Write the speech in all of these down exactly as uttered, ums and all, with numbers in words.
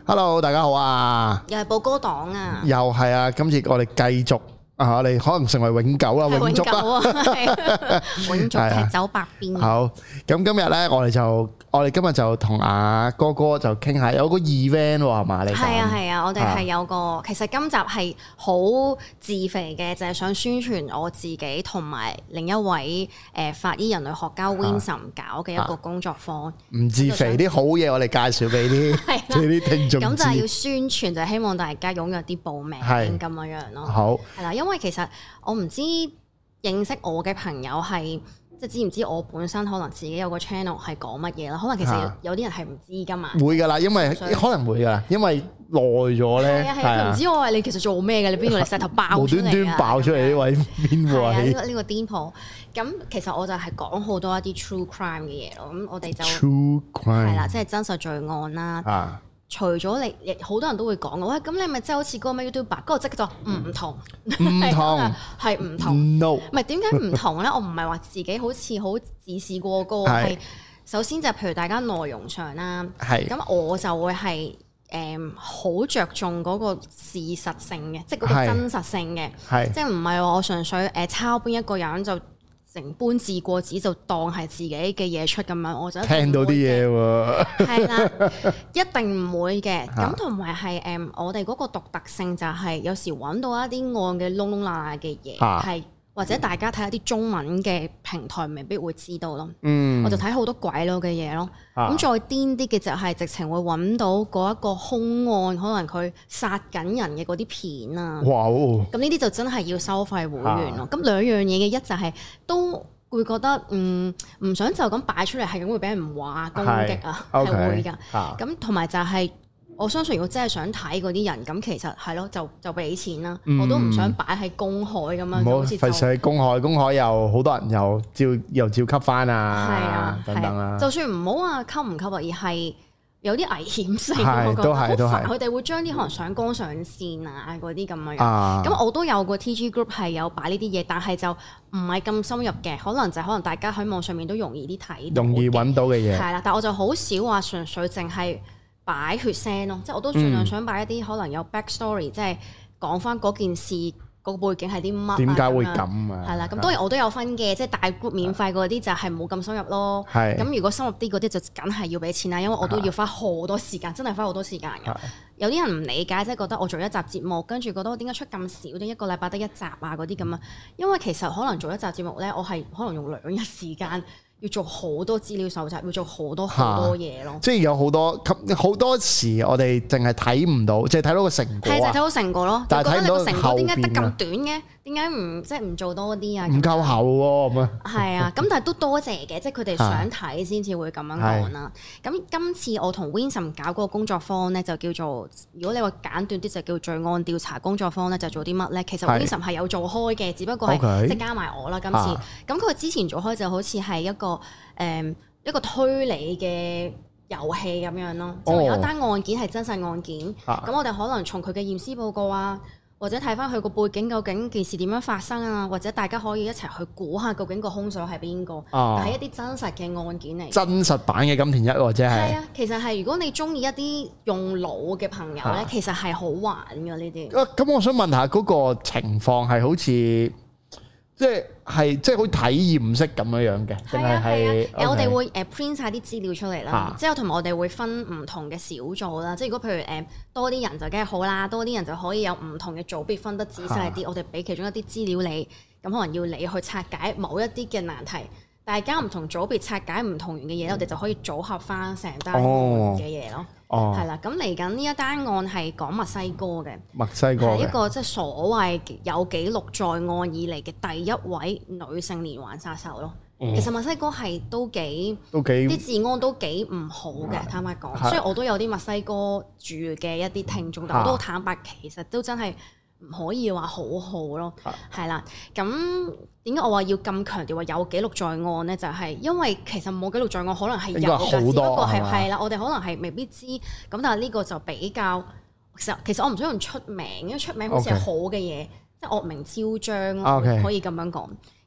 Hello， 大家好啊！ 又係寶哥黨啊！ 又係啊！今次我哋繼續啊，我哋可能成為永久啦，永續啊，永續踢走百變。 好，咁今日咧，我哋就我哋今日就同阿哥哥就傾下，有個 event 喎，係嘛？你係啊係啊，我哋係有個，其實今集係好自肥嘅，就係想宣傳我自己同埋另一位誒法醫人類學家 Vincent 搞嘅一個工作坊。唔自肥，啲好嘢我哋介紹俾啲俾啲聽眾。 咁就係要宣傳，就係希望大家踴躍啲報名咁樣樣咯。 好， 係啦，因為其實我唔知認識我嘅朋友係。即係知唔知我本身可能自己有個 channel 係講乜嘢啦？可能其實有啲人係唔知噶嘛。會㗎啦，因為可能會㗎，因為耐咗咧。係啊係啊，佢唔知我話你其實做咩嘅？你邊度嚟石頭爆出嚟？無端端爆出嚟呢位邊位？ 係啊，呢個呢個癲婆。咁其實我就係講好多一啲 true crime 嘅嘢咯。咁我哋就 true crime 係啦，即係真實罪案啦。啊。除咗你，好多人都會講嘅，喂，咁你咪即係好似嗰個咩 YouTuber，嗰個即係就唔同， 唔同係唔同。 No， 唔係點解唔同咧？我唔係話自己好似好自視過高，係首先就係譬如大家內容上啦，係咁我就會係誒好着重嗰個事實性嘅，即係嗰個真實性嘅，係即係唔係話我純粹誒抄邊一個人就成搬字過紙就當係自己嘅嘢出咁樣，我就聽到啲嘢喎。係啦，一定唔會嘅。咁同埋係誒，我哋嗰個獨特性就係有時揾到一啲案嘅窿窿罅罅嘅嘢，係、啊、或者大家睇下啲中文嘅平台未必會知道咯。嗯，我就睇好多鬼佬嘅嘢咯。咁、啊、再癲啲嘅就係直情會揾到嗰一個兇案，可能佢殺緊人嘅嗰啲片啊。哇！咁呢啲就真係要收費會員咯。咁、啊、兩樣嘢嘅一就係都會覺得嗯唔想就咁擺出嚟，係咁會俾人話攻擊啊，係會㗎。咁同埋就係、是、我相信，如果真係想睇嗰啲人，咁其實係咯，就就俾錢啦。嗯、我都唔想擺喺公海咁樣，好似費事喺公海，公海又好多人又照又照吸翻啊，係啊等等啦。 就算唔好話吸唔吸啊，而係有啲危險性， 係我覺得好煩。佢哋係會將啲可能上綱上線啊嗰啲咁樣。咁、啊、我都有個 T G group 係有擺呢啲嘢，但係就唔係咁深入嘅，可能就可能大家喺網上面都容易啲睇， 容易揾到嘅嘢。 係啦，但係我就好少話純粹淨係擺血腥咯，即係我都盡量想擺一啲可能有 back story，、嗯、即係講翻嗰件事。個背景係啲乜？點解會咁啊？ 係啦，咁當然我都有分嘅，即係大 group 免費嗰啲就係冇咁深入咯。係。咁如果深入啲嗰啲就梗係要俾錢啦，因為我都要花好多時間，真係花好多時間㗎。有啲人唔理解，即係覺得我做一集節目，跟住覺得我點解出咁少？點一個禮拜得一集啊？嗰啲咁啊？因為其實可能做一集節目咧，我係可能用兩日時間。要做好多資料搜集，要做好多好多嘢咯。即係有好多好多時，我哋淨係睇唔到，即係睇到個成果。 係就睇到成果咯。 但係睇唔到後邊。 覺得你個成果點解得咁短嘅？點解唔即係唔做多啲啊？ 唔夠厚喎咁啊！ 係啊，咁但係都多謝嘅，即係佢哋想睇先至會咁樣講啦。咁今次我同 Vincent 搞嗰個工作坊咧，就叫做如果你話簡短啲，就叫罪案調查工作坊咧，就做啲乜咧？其實 Vincent 係有做開嘅，只不過係即係加埋我啦。今次咁佢之前做開就好似係一個。誒、嗯、一個推理嘅遊戲咁樣咯，即係、哦、有一單案件係真實案件，咁、啊、我哋可能從佢嘅驗屍報告啊，或者睇翻佢個背景，究竟件事點樣發生啊，或者大家可以一齊去估下究竟個兇手係邊個，係、啊、一啲真實嘅案件嚟。真實版嘅金田一或者係。係啊，其實係如果你中意一啲用腦嘅朋友咧，啊、其實係好玩㗎呢啲。 咁、啊、我想問下嗰、嗰個情況係好似。即係係即係好體驗式咁樣樣嘅，定係係？ 誒，我哋會誒 print 曬啲資料出嚟啦，之後同埋我哋會分唔同嘅小組啦。即係如果譬如誒多啲人就梗係好啦，多啲人就可以有唔同嘅組別分得仔細啲。啊、我哋俾其中一啲資料你，咁可能要你去拆解某一啲嘅難題。大家唔同組別拆解唔同元嘅嘢，嗯、我哋就可以組合翻成單案嘅嘢咯。哦，係啦，咁嚟緊呢一單案係講墨西哥嘅， 墨西哥係一個即係所謂有記錄在案以嚟嘅第一位女性連環殺手咯。嗯、其實墨西哥係都幾都幾啲治安都幾唔好嘅，嗯、坦白講。所以我都有啲墨西哥住嘅一啲聽眾，但我都坦白，其實都真係。唔可以話好好咯，係啦、啊。咁點解我話要咁強調話有記錄在案咧？就係、是、因為其實冇記錄在案可能係有㗎，只不過係係啦，我哋可能係未必知。咁但係呢個就比較其實其實我唔想用出名，因為出名好似係好嘅嘢，Okay. 即係惡名昭彰咯，Okay. 可以咁樣講。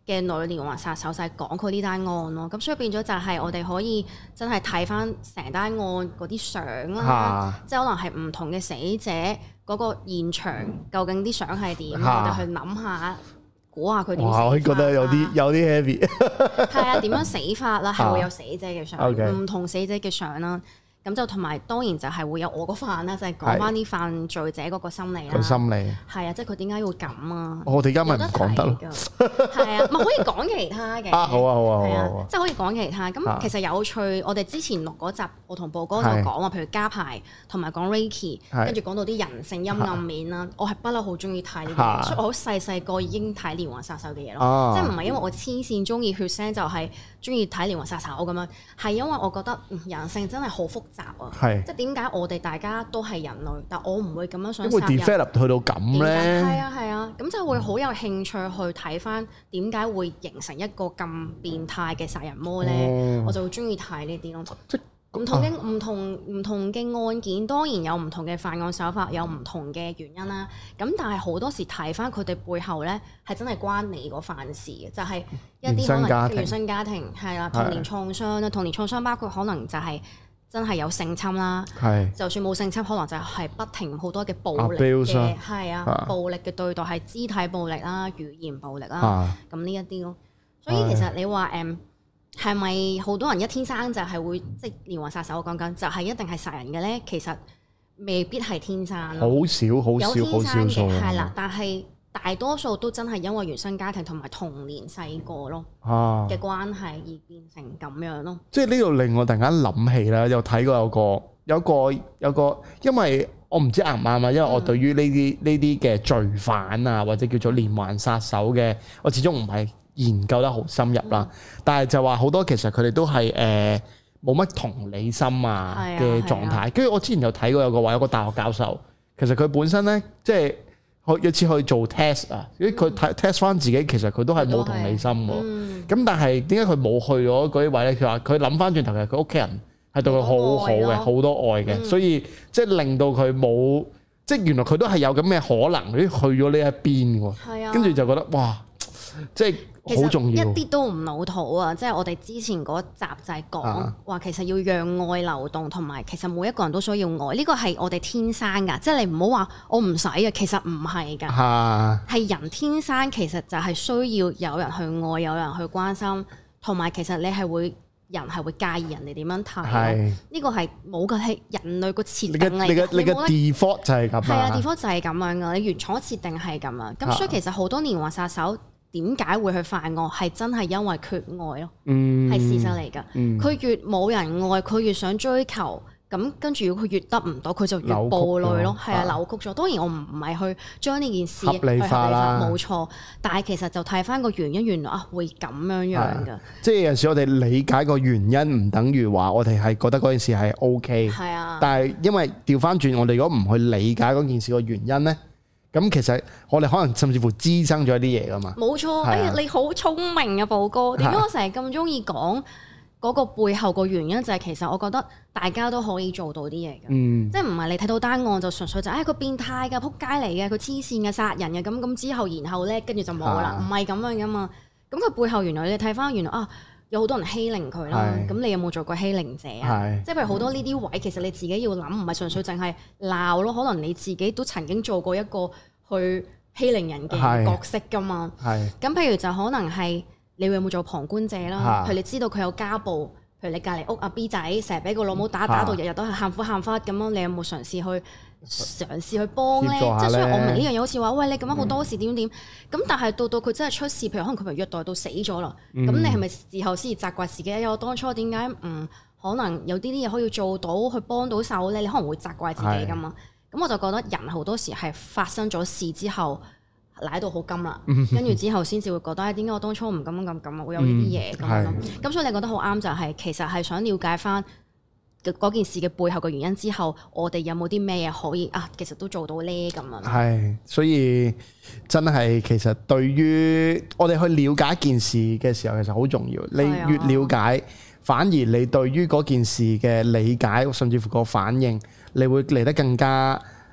嘅女連環殺手就係講佢呢單案咯，咁所以變咗就係我哋可以真係睇翻成單案嗰啲相啦，啊、即係可能係唔同嘅死者嗰個現場究竟啲相係點，啊、我哋去諗下估下佢點死法。 我覺得有啲有啲 heavy。係啊，點樣死法啦？係會有死者嘅相，唔、 啊 okay. 同死者嘅相啦。咁就同埋當然就係會有我個犯啦，就係講翻啲犯罪者嗰個心理啦。個心理係啊，即係佢點解會咁啊？ 我哋而家咪唔講得咯。 係啊，咪可以講其他嘅。 啊好啊好啊好啊，即係可以講其他。咁其實有趣，我哋之前錄嗰集，我同寶哥就講話，譬如家排同埋講 Reiki，跟住講到啲人性陰暗面啦。我係不嬲好中意睇呢啲嘢，所以我好細細個已經睇連環殺手嘅嘢咯。即係唔係因為我黐線中意血腥，就係中意睇連環殺手咁樣，係因為我覺得人性真係好複雜啊。係。即係點解我哋大家都係人類，但我唔會咁樣想殺人。點會 develop 去到咁咧？係啊係啊，咁就會好有興趣去睇翻點解會形成一個咁變態嘅殺人魔咧？哦、我就會中意睇呢啲咯。即唔同嘅唔同唔同嘅案件，當然有唔同嘅犯案手法，有唔同嘅原因啦。咁但係好多時睇翻佢哋背後咧，係真係關你個犯事嘅，就係、是、一啲可能原生家庭係啦，童年創傷啦，童年創傷包括可能就係、是。真係有性侵啦，是就算冇性侵，可能就係不停好多嘅暴力嘅，係啊，啊暴力嘅對待係肢體暴力啦、語言暴力啦，咁呢一啲咯。所以其實你話誒係咪好多人一天生就係會即係連環殺手？我講緊就係一定係殺人嘅咧，其實未必係天生，好少好少好少數係啦，但係。大多數都真係因為原生家庭同埋童年細個咯嘅關係而變成咁樣咯。 即係呢度令我突然間諗起啦，有睇過有個有個有個，因為我唔知啱唔啱啊，因為我對於呢啲呢啲嘅罪犯啊，或者叫做連環殺手嘅，我始終唔係研究得好深入啦。嗯、但係就話好多其實佢哋都係誒冇乜同理心啊嘅狀態。跟住、啊啊、我之前有睇過有個話有個大學教授，其實佢本身咧即係。有次去做 test 啊，因為佢睇 test 翻自己，其實佢都係冇同理心喎。咁、嗯、但係點解佢冇去咗嗰啲位咧？佢話佢諗翻轉頭，其實佢屋企人係對佢好好嘅，好多愛嘅，嗯、所以即係令到佢冇，即係原來佢都係有咁嘅可能，佢去咗呢一邊喎。跟住、啊、就覺得哇，即係。好重要， 一啲都唔老土啊！即係我哋之前嗰集就係講話，其實要讓愛流動，同埋其實每一個人都需要愛。呢個係我哋天生㗎，即係你唔好話我唔使嘅，其實唔係㗎，係、啊、人天生其實就係需要有人去愛，有人去關心，同埋其實你係會人係會介意人哋點樣睇。呢是個係冇嘅，係人類個設定嚟嘅。你嘅你嘅 default 就係咁。係啊 default 就係咁樣㗎。你原廠設定係咁啊。咁所以其實好多連環殺手。點解會去犯案？係真係因為缺愛咯，係、嗯、事實嚟㗎。佢、嗯、越冇人愛，佢越想追求，咁跟住佢越得唔到，佢就越暴戾咯。係啊，扭曲咗。當然我唔唔係去將呢件事去合理化啦，冇錯。但係其實就睇翻個原因，原來啊會咁樣樣㗎。即係有陣時我哋理解個原因，唔等於話我哋係覺得嗰件事係 OK。係啊。但係因為調翻轉，我哋如果唔去理解嗰件事個原因咧。咁其實我哋可能甚至乎滋生咗一啲嘢噶嘛。冇錯，哎呀，你好聰明啊，寶哥。點解我成日咁中意講嗰個背後個原因？就係其實我覺得大家都可以做到啲嘢嘅。嗯，即係唔係你睇到單案就純粹就誒佢變態㗎，撲街嚟嘅，佢黐線嘅殺人嘅，咁咁之後然後咧跟住就冇啦，唔係咁樣噶嘛。咁佢背後原來你睇翻原來啊有好多人欺凌佢啦。咁你有冇做過欺凌者啊？即係譬如好多呢啲位，其實你自己要諗，唔係純粹淨係鬧咯。可能你自己都曾經做過一個去欺凌人嘅角色㗎嘛，咁譬如就可能係你會有冇做旁觀者啦？譬如你知道佢有家暴，譬如你隔離屋阿 B 仔成日俾個老母打，打到日日都係喊苦喊忽咁樣，你有冇嘗試去嘗試去幫咧？即係雖然我明呢樣嘢好似話，喂，你咁樣好多事點點，咁但係到到佢真係出事，譬如可能佢被虐待到死咗啦，咁你係咪事後先至責怪自己？我當初點解唔可能有啲啲嘢可以做到去幫到手咧？你可能會責怪自己㗎嘛。咁我就覺得人好多時係發生咗事之後，賴到好金啦，跟住之後先至會覺得，誒點解我當初唔咁咁咁啊？會有呢啲嘢咁樣咯。咁所以你覺得好啱就係、是，其實係想了解翻嗰件事嘅背後嘅原因之後，我哋有冇啲咩嘢可以啊？其實都做到呢咁樣。 係，所以真係其實對於我哋去了解一件事嘅時候，其實好重要。你越了解，反而你對於嗰件事嘅理解，甚至乎個反應，你會嚟得更加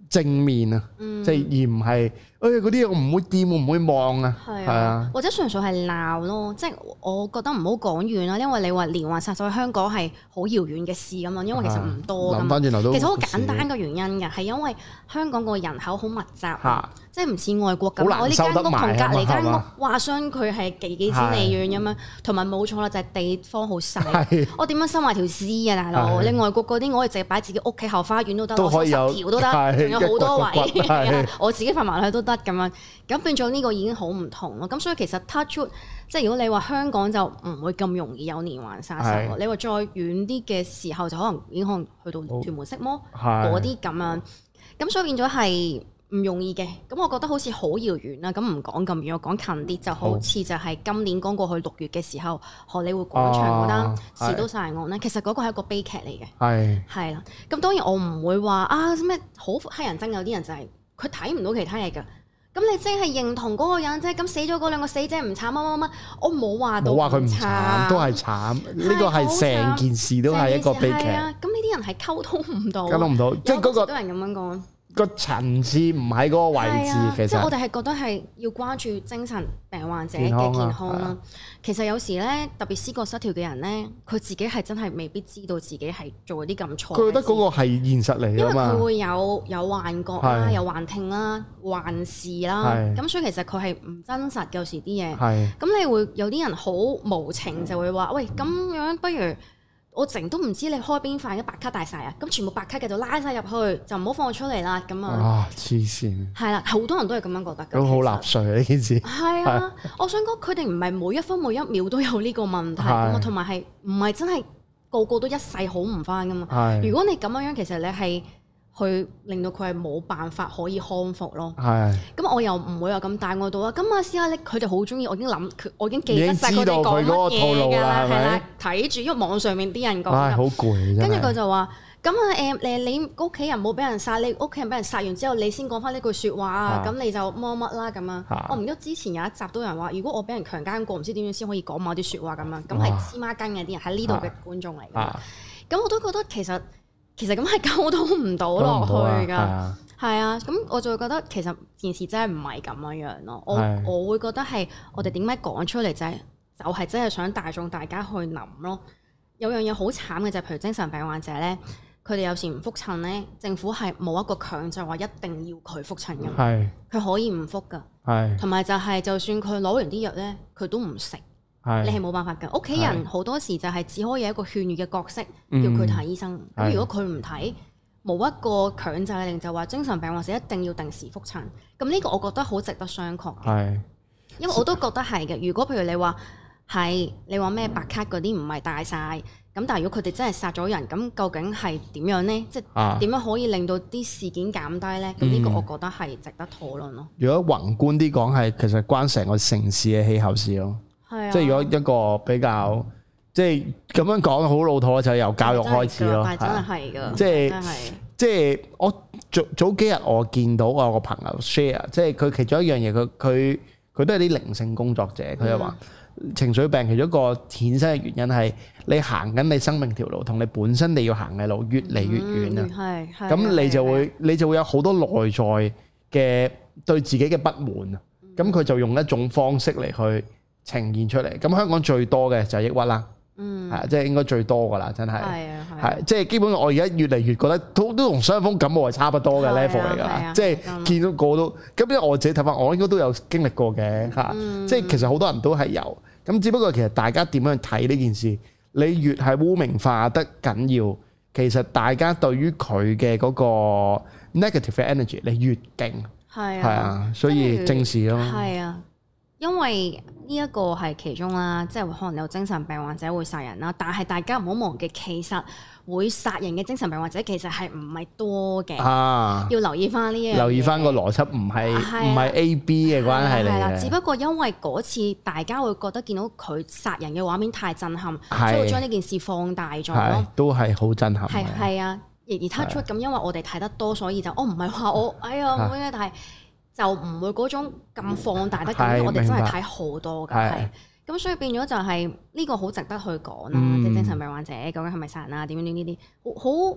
正面啊， 嗯、 即係而唔係誒嗰啲嘢我唔會掂，我唔會望啊， 係啊， 啊或者純粹係鬧咯，即係我覺得唔好講遠啦，因為你話連環殺手喺香港係好遙遠嘅事咁嘛，因為其實唔多㗎嘛。諗返轉頭都其實好簡單嘅原因嘅，係因為香港個人口好密集，啊、即係唔似外國咁。我呢間屋同隔離間屋話相距係幾幾千里遠咁樣，同埋冇錯啦，就係、是、地方好細。我點樣收埋條屍啊，大佬？你外國嗰啲我哋淨係擺自己屋企後花園都得，我收十條都得，仲有好多位，我自己瞓埋去都得咁樣。咁變咗呢個已經好唔同咯。咁所以其實 touch wood，即係如果你話香港就唔會咁容易有連環殺手。你話再遠啲嘅時候就可能已經可能去到屯門色魔嗰啲咁樣。咁所以變咗係唔容易嘅。咁我覺得好似好遙遠啦。咁唔講咁遠，我講近啲，就好似就係今年剛過去六月嘅時候，荷里活廣場嗰單士多殺人案咧，其實嗰個係一個悲劇嚟嘅。係係啦。咁當然我唔會話啊咩好黑人憎，有啲人就係佢睇唔到其他嘢㗎。咁你即係認同嗰個人啫，咁死咗嗰兩個死者唔慘乜乜乜，我冇話到，冇話佢唔慘， 都係慘。呢個係成件事都係一個悲劇。咁呢啲人係溝通唔到， 溝通唔到，即係嗰個好多人咁樣講。 個層次唔喺嗰個位置，啊、其實即係我哋係覺得係要關注精神病患者嘅健康啦。其實有時咧，特別思覺失調嘅人咧，佢自己係真係未必知道自己係做啲咁錯。佢覺得嗰個係現實嚟㗎嘛。因為佢會有有幻覺啦，是有幻聽啦、幻視啦，咁是所以其實佢係唔真實。有時啲嘢，咁是你會有啲人好無情，就會話：喂，咁樣不如。我成都唔知你開邊塊，一白卡大晒啊！咁全部白卡嘅就拉晒入去，就唔好放出嚟啦。咁啊， 啊黐線！係啦，好多人都係咁樣覺得。 咁好納稅啊！呢件事係啊，我想講佢哋唔係每一分每一秒都有呢個問題㗎嘛，同埋係唔係真係個個都一世好唔翻㗎嘛？係。如果你咁樣樣，其實你係。去令到佢係冇辦法可以康復咯。係。咁我又唔會話咁大愛到啊。咁啊，試下你佢哋好中意，我已經諗，我已經記得晒佢哋講乜嘢㗎啦。係啦，睇住，因為網上面啲人講。唉， 好攰。跟住佢就話：咁啊誒誒，你屋企人冇俾人殺，你屋企人俾人殺完之後，你先講翻呢句説話啊。咁你就乜乜啦咁啊。我唔記得之前有一集都有人話，如果我俾人強姦過，唔知點樣先可以講某啲説話咁樣。咁係黐孖筋嘅啲人喺呢度嘅觀眾嚟㗎。咁我都覺得其實。其實咁係溝通唔到落去㗎，係啊，咁我就會覺得其實件事真係唔係咁樣樣咯。我是我會覺得係我哋點解講出嚟就係就係真係想大眾大家去諗咯。有樣嘢好慘嘅就係譬如精神病患者咧，佢哋有時唔覆診咧，政府係冇一個強制話一定要佢覆診㗎，係佢是可以唔覆㗎，係同埋就係就算佢攞完啲藥咧，佢都唔食。你係冇辦法㗎，屋企人好多時就係只可以有一個勸喻嘅角色，叫佢睇醫生。咁、嗯、如果佢唔睇，冇一個強制令就話精神病或者一定要定時覆診。咁呢個我覺得好值得商榷嘅，是因為我都覺得係嘅。如果譬如你話係你話咩白卡嗰啲唔係大晒，咁但係如果佢哋真係殺咗人，咁究竟係點樣呢？即係點樣可以令到啲事件減低呢？咁呢、啊、個我覺得係值得討論咯。如果宏觀啲講，係其實關成個城市嘅氣候事咯。即係如果一個比較，即係咁樣講好老土，就由教育開始咯。係真係係㗎，即係即係我早早幾日我見到我有個朋友 share，即係佢其中一樣嘢，佢佢佢都係啲靈性工作者，佢就話情緒病其中一個衍生嘅原因係你行緊你生命條路，同你本身你要行嘅路越嚟越遠啊。係係。咁你就會你就會有好多內在嘅對自己嘅不滿啊。咁佢就用一種方式嚟去呈現出嚟，咁香港最多嘅就係抑鬱啦，嗯，係即係應該最多噶啦，真係，係啊，係，即係基本上我而家越嚟越覺得都都同傷風感冒係差不多嘅 level 嚟㗎，即係見到個都，咁因為我自己睇法，我應該都有經歷過嘅嚇，即係其實好多人都係有，咁只不過其實大家點樣睇呢件事，你越係污名化得緊要，其實大家對於佢嘅嗰個 negative energy 你越勁，係啊，所以正視咯， 係啊。因為呢一個係其中啦，即係可能有精神病患者會殺人啦，但係大家唔好忘記，其實會殺人嘅精神病患者其實係唔係多嘅，啊、要留意翻呢樣嘢。 留意翻個邏輯，唔係唔係 A B 嘅關係嚟嘅。係啦， 只不過因為嗰次大家會覺得見到佢殺人嘅畫面太震撼，所以會將呢件事放大咗咯。 都係好震撼。 係係啊，而而 touch wood 咁，因為我哋睇得多，所以就我唔係話我哎呀冇咩，但係。就唔會嗰種咁放大得咁，我哋真係睇好多㗎，係咁，所以變咗就係呢個好值得去講啦。即係精神病患者究竟係咪殺人啊？點樣點呢啲好好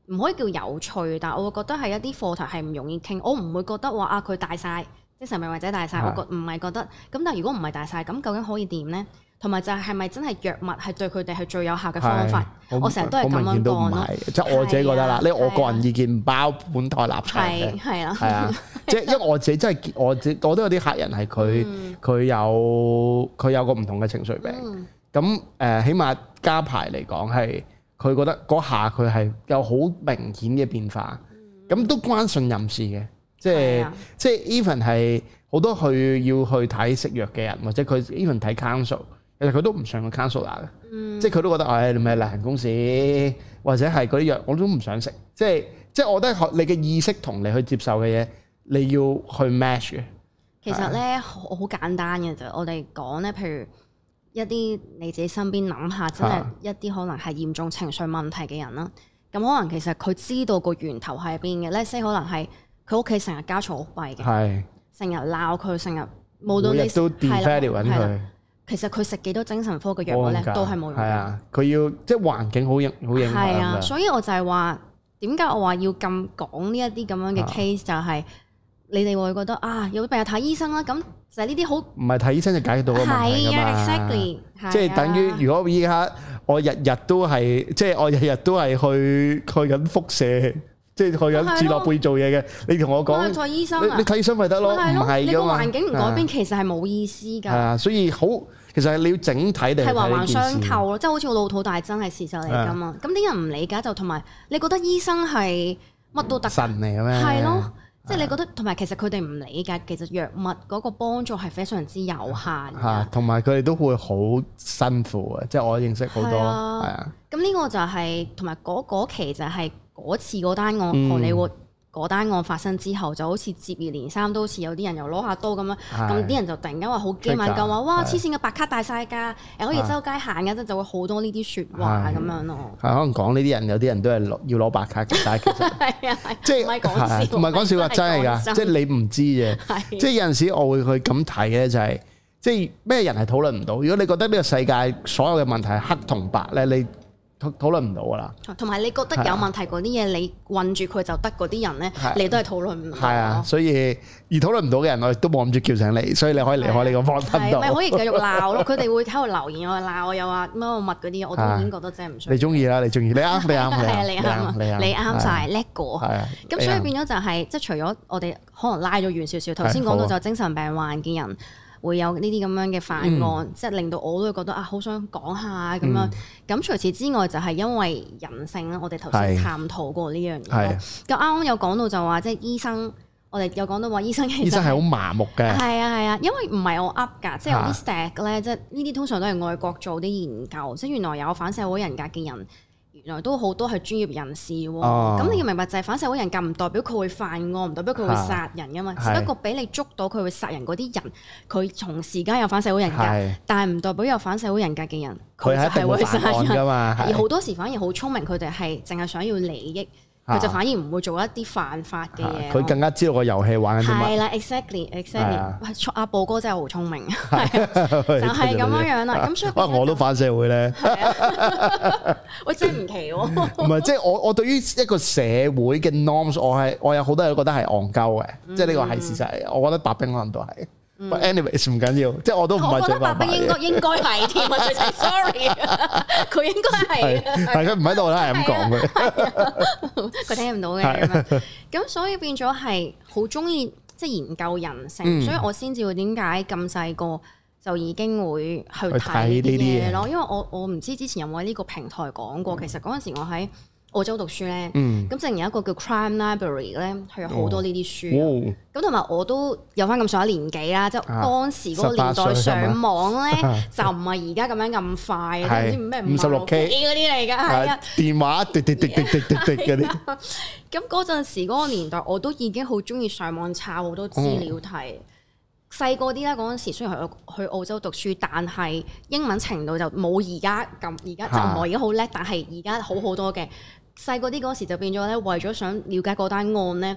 唔可以叫有趣，但係我會覺得係一啲課題係唔容易傾。我唔會覺得話啊佢大晒，精神病或者大晒，我覺唔係覺得。咁但係如果唔係大晒，咁究竟可以點咧？同埋就係係咪真係藥物係對佢哋係最有效嘅方法？我成日都係咁樣講咯。即係我自己覺得啦，呢我個人意見唔包本台立場嘅。係啊，係啊，即係因為我自己真係我自我都有啲客人係佢佢有佢有個唔同嘅情緒病。咁誒，起碼加排嚟講係佢覺得嗰下佢係有好明顯嘅變化。咁都關信任事嘅，即係即係 even 係好多去要去睇食藥嘅人，或者佢 even 睇 counsel。其實佢都唔上個 counselor 嘅，嗯、即係佢都覺得，唉、哎，你咪例行公事，或者係嗰啲藥我都唔想食。即係即係，我覺得你嘅意識同你去接受嘅嘢，你要去 match 嘅。其實咧，好好簡單嘅啫。我哋講咧，譬如一啲你自己身邊諗下，真係一啲可能係嚴重情緒問題嘅人啦。咁可能其實佢知道個源頭喺邊嘅咧，即係可能係佢屋企成日家嘈屋閉嘅，成日鬧佢，成日無論你都 devalue 緊佢。 其實佢食幾多精神科嘅藥物咧，都係冇用。係啊，佢要即係環境好影好影響。係啊，所以我就係話點解我話要咁講呢一啲咁樣嘅 case，就係你哋會覺得啊，有病就睇醫生啦。咁就係呢啲好唔係睇醫生就解決到個問題㗎嘛。係啊 exactly，即係等於如果依家我日日都係即係我日日都係去去緊輻射。即係去緊志樂貝做嘢嘅，你同我講，你睇醫生啊，你睇醫生咪得咯，唔係㗎嘛。你個環境唔改變，其實係冇意思㗎。係啊，所以好，其實你要整體地係環環相扣咯，即係好似我老土大真係事實嚟㗎嘛。咁啲人唔理解就同埋，你覺得醫生係乜都得神嚟嘅咩？係咯，即係你覺得同埋其實佢哋唔理解，其實藥物嗰個幫助係非常之有限。嚇，同埋佢哋都會好辛苦嘅，即係我認識好多係啊。咁呢個就係同埋嗰嗰期就係。嗰次嗰單案，荷里活嗰單案發生之後，就好似接二連三，都好似有啲人又攞下刀咁樣，咁啲人就突然間話好驚敏感，話哇黐線嘅白卡大晒㗎，誒可以周街行嘅，即就會好多呢啲説話咁樣咯。係可能講呢啲人，有啲人都係要攞白卡嘅，但係其實係啊，即係唔係講笑，唔係講笑話，真係㗎，即係你唔知嘅，即係有陣時我會去咁睇嘅就係，即係咩人係討論唔到。如果你覺得呢個世界所有嘅問題係黑同白咧，你討論唔到噶啦，同埋你覺得有問題嗰啲嘢，你困住佢就得嗰啲人咧，你都係討論唔到。係啊，所以而討論唔到嘅人，我亦都冇諗住叫醒你，所以你可以離開呢個方頻道。係咪可以繼續鬧咯？佢哋會喺度留言，我鬧我又話乜乜物嗰啲，我都已經覺得真係唔需要。你中意啦，你中意，你啱，你啱，你啱，你啱，你啱晒叻過。係啊，咁所以變咗就係，即係除咗我哋可能拉咗遠少少，頭先講到就精神病患嘅人。會有呢啲咁樣嘅犯案，嗯、即係令到我都會覺得啊，好想講下咁樣。咁、嗯、除此之外，就係因為人性啦。我哋頭先探討過呢樣嘢。咁啱啱有講到就話，即係醫生，我哋有講到話醫生其實醫生係好麻木嘅。係啊係啊，因為唔係我噏㗎，即係有啲 stack 咧，即係呢啲通常都係外國做啲研究，即係原來有反社會人格嘅人。原來都好多係專業人士喎，咁、哦、你要明白就係反社會人格唔代表佢會犯案，唔代表佢會殺人噶嘛，是只不過俾你捉到佢會殺人嗰啲人，佢同時間有反社會人格，是但係唔代表有反社會人格嘅人佢就係會殺人噶嘛。而好多時反而好聰明，佢哋係淨係想要利益。佢就反而唔會做一啲犯法嘅嘢。佢更加知道個遊戲玩緊啲乜。係啦 ，exactly exactly。喂，阿寶哥真係好聰明，就係咁樣樣啦。咁所以，哇，我都反社會咧。喂，真係唔奇喎。唔係，即係我我對於一個社會嘅 norms，我係我有好多人都覺得係戇鳩嘅，即係呢個係事實。我覺得白兵可能都係。But anyways 唔緊要，即係我都唔係最白兵。應該應該係添啊，sorry，佢應該係。係佢唔喺度啦，係咁講嘅。佢聽唔到嘅。咁所以變咗係好中意即係研究人性，所以我先至會點解咁細個就已經會去睇呢啲嘢咯。因為我我唔知之前有冇喺呢個平台講過，其實嗰陣時我喺澳洲讀書咧，咁正有一個叫 Crime Library 咧，係有好多呢啲書。咁同埋我都有翻咁上下年紀啦，即係當時嗰個年代上網咧，就唔係而家咁樣咁快，唔知咩五十六 K 嗰啲嚟㗎，係啊，電話滴滴滴滴滴滴滴嗰啲。咁嗰陣時嗰個年代，我都已經好中意上網查好多資料睇。細個啲咧，嗰陣時雖然去去澳洲讀書，但係英文程度就冇而家咁，而家就唔係而家好叻，但係而家好好多嘅。細個啲嗰時就變咗咧，為咗想了解嗰單案咧，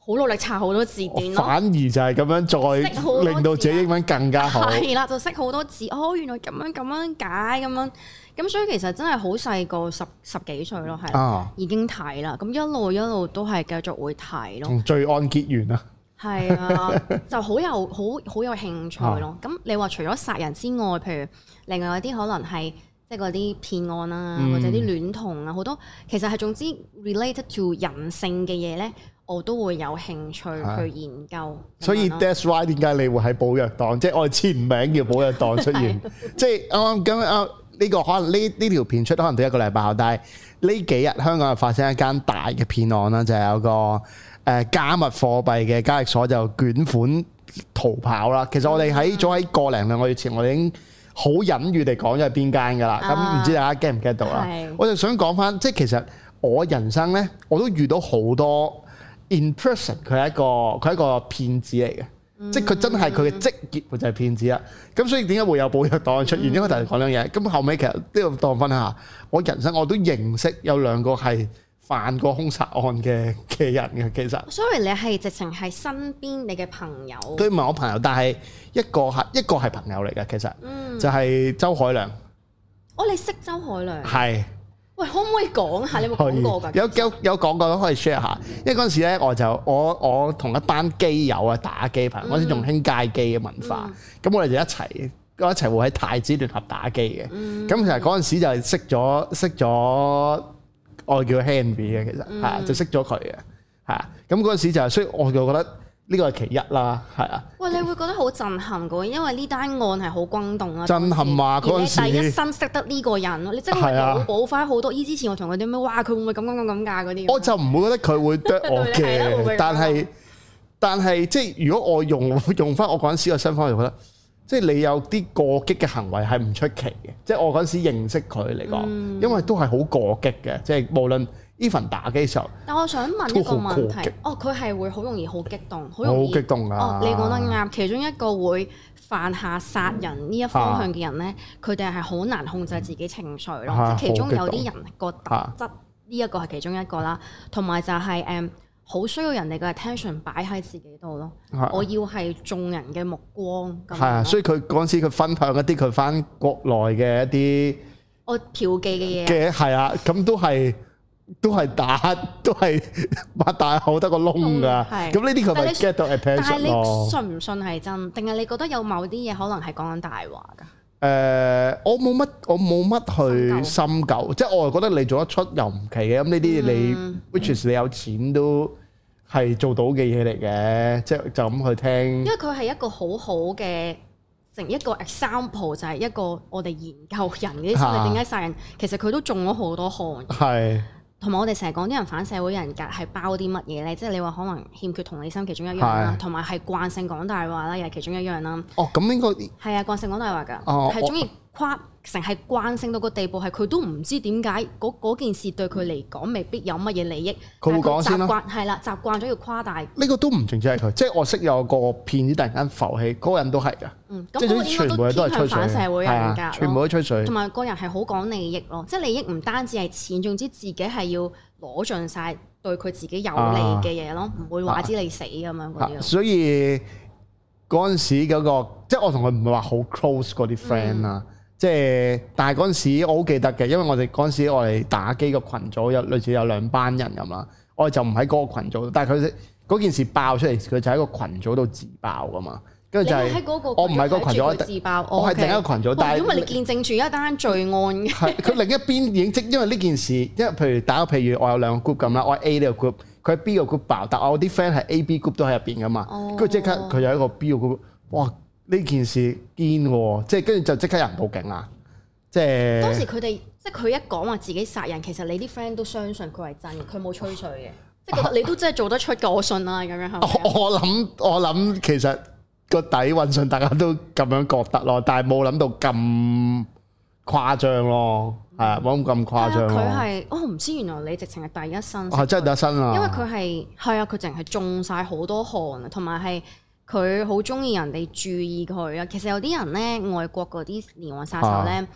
好努力查好多字典咯。 反而就係咁樣再令到自己英文更加好。 係啦，就識好多字。哦，原來咁樣咁樣解咁樣。咁所以其實真係好細個，十十幾歲咯，係、啊、已經睇啦。咁一路一路都係繼續會睇咯。同罪案結緣啊！ 係啊，就好有好好有興趣咯。咁、啊、你話除咗殺人之外，譬如另外有啲可能係即係嗰啲騙案啊，嗯、或者啲戀童啊，好多其實係總之 related to 人性嘅嘢咧，我都會有興趣去研究。所以 that's why 點解你會喺寶藥黨？即係我哋前名叫寶藥黨出現。即係啱啱咁啱呢個可能呢呢條片出可能第一個禮拜後，但係呢幾日香港又發生一間大嘅騙案啦，就係、是、有個誒加密貨幣嘅交易所就捲款逃跑啦。其實我哋喺早喺個零兩個月前，我哋已經好隱喻地講咗係邊間㗎啦。咁唔、啊、知大家 get 唔 get 到啦？是我就想講翻，即係其實我人生咧，我都遇到好多 in person，佢係一個佢係一個騙子嚟嘅。即係佢真係佢嘅職業就係騙子啦，咁所以點解會有寶藥黨出現？因為同你講兩樣嘢，咁後尾其實呢個當分享下，我人生我都認識有兩個係犯過兇殺案嘅嘅人嘅，其實。Sorry， 你係直情係身邊你嘅朋友？ 佢唔係我朋友，但係一個係一個係朋友嚟嘅，其實，就係周海亮。 哦，你識周海亮？ 係。 喂，可唔可以講下？你有冇講過㗎？ 有有有講過都可以 share 下，因為嗰陣時咧，我就我我同一班基友啊打機朋友，嗰陣時仲興街機嘅文化，咁、嗯、我哋就一齊一齊會喺太子聯合打機嘅。咁、嗯、其實嗰陣時就係識咗識咗我叫 Henry 嘅，其實係、嗯、就識咗佢嘅，係啊。咁嗰陣時就係，所以我就覺得。呢個係其一啦，係啊。喂， 你會覺得好震撼嘅，因為呢單案係好轟動啊。 震撼啊！嗰陣時， 第一身識得呢個人咯，你真係腦補翻好多。依之前我同佢點樣，哇！佢會唔會咁咁咁咁㗎嗰啲？ 我就唔會覺得佢會啄我嘅，但係但係即係如果我用用翻我嗰陣時嘅身份，我就覺得即係你有啲過激嘅行為係唔出奇嘅。即係我嗰陣時認識佢嚟講，嗯、因為都係好過激嘅，即係無論。even 打機時候， 但我想問一個問題，哦，佢係會好容易好激動，好容易好激動啊！ 哦，你講得啱，其中一個會犯下殺人呢一方向嘅人咧，佢哋係好難控制自己情緒咯。啊、即係其中有啲人個特質，呢一個係其中一個啦。同埋就係誒，好需要人哋嘅 attention 擺喺自己度咯。啊、我要係眾人嘅目光。 係啊，所以佢嗰陣時佢分享一啲佢翻國內嘅一啲我嫖妓嘅嘢嘅係啊，咁都係。都係打，都係擘大口得個窿㗎。咁呢啲佢咪 get 到 attention 咯。但係你信唔信係真？定係你覺得有某啲嘢可能係講緊大話㗎？誒、 呃，我冇乜，我冇乜去深究。即係我係覺得你做得出又唔奇嘅。咁呢啲你、嗯、which is 你有錢都係做到嘅嘢嚟嘅。即係就咁去聽。因為佢係一個好好嘅成一個 example，就係一個我哋研究人嗰啲心理點解殺人，其實佢都中咗好多項。係。同埋我哋成日講啲人反社會人格係包啲乜嘢咧？即係你話可能欠缺同理心其中一樣啦，同埋係慣性講大話啦，又係其中一樣啦。 哦，咁應該係啊，慣性講大話㗎，係中意誇成係慣性到個地步，係佢都唔知點解嗰件事對佢嚟講未必有乜嘢利益。 佢會講先咯。 習慣係啦，習慣咗要誇大。 呢個都唔淨止係佢，即係我識有個騙子突然間浮起，嗰個人都係㗎。 嗯，咁嗰個應該都偏向反社會人格， 全部都吹水。 同埋個人係好講利益咯，即係利益唔單止係錢，總之自己係要攞盡晒對佢自己有利嘅嘢咯，唔、啊、會話知你死咁樣嗰啲。所以嗰陣時嗰、那個，即係我同佢唔係話好 close 嗰啲 friend 啦，即係但係嗰陣時我好記得嘅，因為我哋嗰陣時我哋打機個群組有類似有兩班人咁啦，我哋就唔喺嗰個群組，但係佢嗰件事爆出嚟，佢就喺個群組度自爆噶嘛。跟住就係、是、我唔係嗰個群組，自爆我係另一個群組，但係因為你見證住一單罪案嘅。 係佢另一邊已經即因為呢件事，因為譬如打個譬如我有兩個 group 咁啦，我係 A 呢個 group，佢係 B 個 group 爆，但我啲 friend 係 A、B group 都喺入邊噶嘛。跟住即刻佢有一個 B 個 group，哇！呢件事堅喎，即係跟住就即刻有人報警啦。即係當時佢哋即係佢一講話自己殺人，其實你啲 friend 都相信佢係真嘅，佢冇吹水嘅，即係覺得你都真係做得出嘅，我信啦咁樣係咪？ 我諗我諗其實。個底運信大家都咁樣覺得咯，但係冇諗到咁誇張咯，係啊、嗯，冇咁誇張咯。 佢係，我唔知原來你直情係第一身。 係真係第一身啊！ 因為佢係係啊，佢淨係中晒好多汗啊，同埋係佢好中意人哋注意佢啊。其實有啲人咧，外國嗰啲連環殺手咧，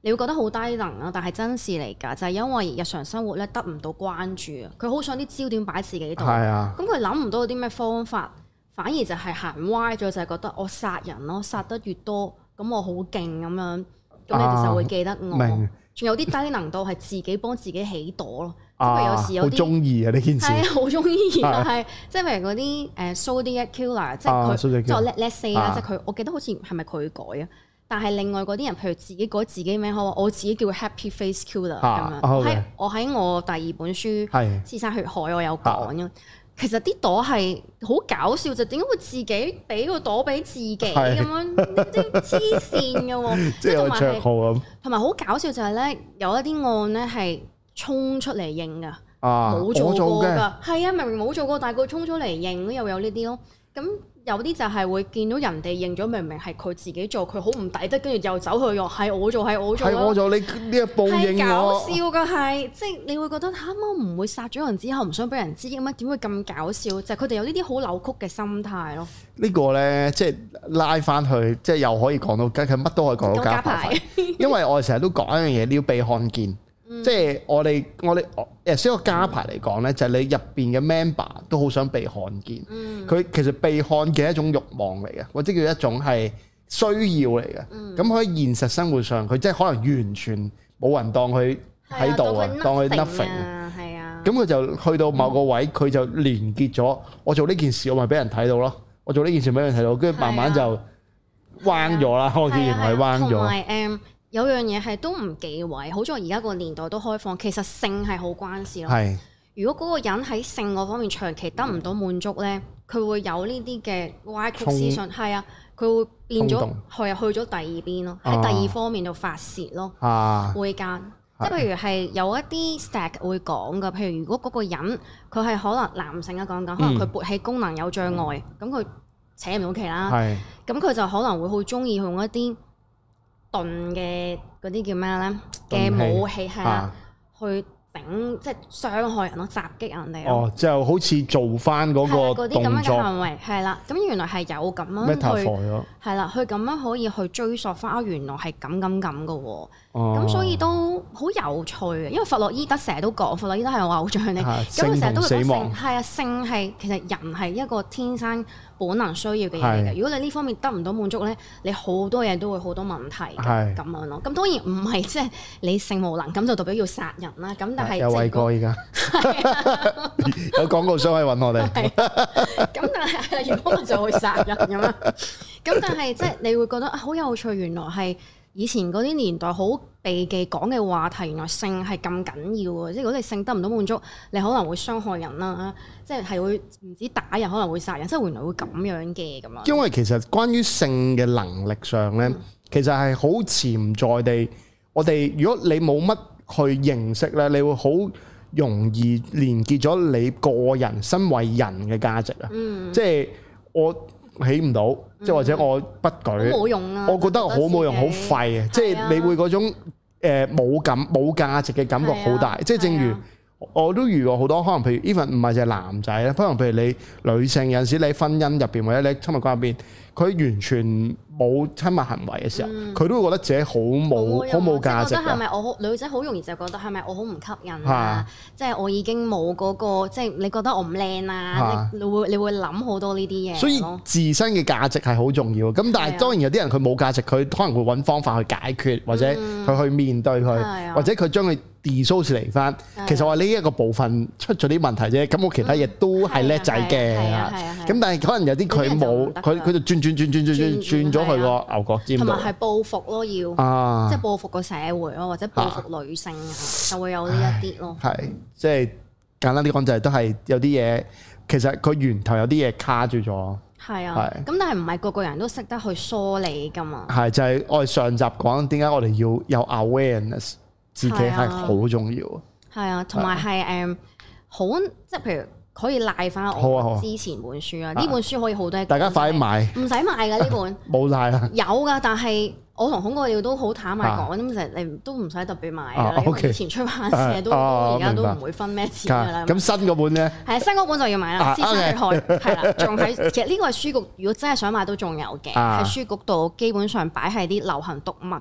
你會覺得好低能啊，但係真事嚟㗎，就係、是、因為日常生活咧得唔到關注啊，佢好想啲焦點擺自己度，咁佢諗唔到有啲咩方法，反而就係行歪咗，就係、是、覺得我殺人咯，殺得越多，咁我好勁咁樣，咁你哋就會記得我。仲、啊、有啲低能到係自己幫自己起朵咯，即係、啊、有時有啲好中意啊呢件事，係啊好中意啊，係即係譬如嗰啲誒 Zodiac Killer，即係佢即係 Let Let's say 啦，即係佢，我記得好似係咪佢改啊？但係另外嗰啲人，譬如自己改自己名，我我自己叫 Happy Face Killer 咁、啊、樣。喺、okay. 我喺我第二本書《屍殺血海》我有講嘅。其實啲朵係好搞笑，就點解會自己俾個朵俾自己咁樣？啲黐線嘅喎，即係同埋係同埋好搞笑就係咧，有一啲案咧係衝出嚟認㗎，冇、啊、做過㗎。係啊，明明冇做過，但係佢衝出嚟認，又有呢啲咯。咁有啲就係會見到人哋認咗，明明係佢自己做，佢好唔抵得，跟住又走去用係我做，係我做，係我做，你呢一步認我。係搞笑㗎，係即係你會覺得嚇我唔會殺咗人之後唔想俾人知咁樣，點會咁搞笑？就係佢哋有呢啲好扭曲嘅心態咯。呢個咧即係拉翻去，即係又可以講到，佢乜都可以講到家排。因為我哋成日都講一樣嘢，你要被看見。嗯、即係我哋我哋誒，所以個家排嚟講咧，就係、是、你入邊嘅 member 都好想被看見。佢、嗯、其實被看見係一種慾望嚟嘅，或者叫一種係需要嚟嘅。咁喺、嗯、現實生活上，佢即係可能完全冇人當佢喺度啊，當佢 nothing 啊。係啊。咁佢就去到某個位，佢、嗯、就連結咗我做呢件事，我咪俾人睇到咯。我做呢件事俾人睇到，跟住慢慢就彎咗啦。我見係彎咗。有樣嘢係都唔忌諱，好在而家個年代都開放，其實性係好關事咯。係。如果嗰個人喺性嗰方面長期得唔到滿足咧，佢會有呢啲嘅歪曲思想，係啊，佢會變咗去去咗第二邊咯，喺第二方面度發泄咯。啊，會間，即係譬如係有一啲 stack 會講噶，譬如如果嗰個人佢係可能男性啊講緊，可能佢勃起功能有障礙，咁佢、嗯、扯唔到旗啦。係。咁佢就可能會好中意用一啲鈍嘅嗰啲叫咩咧嘅武器係啊，去整即係傷害人咯，襲擊人哋咯。哦，就好似做翻嗰個動作。嗰啲咁樣嘅行為係啦，咁原來係有咁樣去係啦，佢咁樣可以去追溯翻啊，原來係咁咁咁嘅喎。咁所以都好有趣嘅，因為弗洛伊德成日都講，弗洛伊德係我偶像嚟，咁佢成日都會講性係啊，性係其實人係一個天生本能需要嘅嘢嚟嘅。如果你呢方面得唔到滿足咧，你好多嘢都會好多問題嘅咁樣咯。咁當然唔係即係你性無能咁就代表要殺人啦。咁但係有偉哥依家有廣告商可以揾我哋。咁但係如果我就會殺人咁樣。咁但係即係你會覺得好有趣，原來係。以前嗰啲年代好避忌講嘅話題，原來性係咁緊要啊！即係如果你性得唔到滿足，你可能會傷害人啦，即係係會唔止打人，可能會殺人，即係原來會咁樣嘅咁樣。因為其實關於性嘅能力上咧，嗯、其實係好潛在地，我哋如果你冇乜去認識咧，你會好容易連結咗你個人身為人嘅價值啊！嗯、即係我起唔到。即係或者我不舉，冇用啊！我覺得好冇用，好廢啊！即係你會嗰種誒冇感冇價值嘅感覺好大。即係正如我都遇過好多，可能譬如 even 唔係淨係男仔咧，可能譬如你女性有陣時你喺婚姻入邊或者你親密關係入邊，佢完全冇親密行為嘅時候，佢都會覺得自己好冇好冇價值。覺得係咪我好女仔好容易就覺得係咪我好唔吸引啊？即係我已經冇嗰個，即係你覺得我唔靚啊？你會你會諗好多呢啲嘢。所以自身嘅價值係好重要。咁但係當然有啲人佢冇價值，佢可能會揾方法去解決，或者佢去面對佢，或者佢將佢 dissociate 翻。其實話呢一個部分出咗啲問題啫。咁我其他嘢都係叻仔嘅。咁但係可能有啲佢冇，佢佢就轉轉轉轉轉轉轉咗去個牛角尖度。同埋係報復咯，要即係報復個社會咯，或者報復女性啊，就會有呢一啲咯。係即係簡單啲講，就係都係有啲嘢，其實佢源頭有啲嘢卡住咗。係啊，咁但係唔係個個人都識得去梳理㗎嘛？係就係我哋上集講點解我哋要有 awareness， 自己係好重要。係啊，同埋係誒好，即係譬如。可以賴翻我之前本書啊！呢本書可以好多，大家快啲買，唔使買㗎呢本，冇賴啦。有㗎，但係我同孔國耀都好坦白講，咁其實你都唔使特別買㗎。以前出版社都而家都唔會分咩錢㗎啦。咁新嗰本咧？係新嗰本就要買啦，《屍殺血海》係啦，仲喺其實呢個係書局，如果真係想買都仲有嘅，喺書局度基本上擺喺啲流行讀物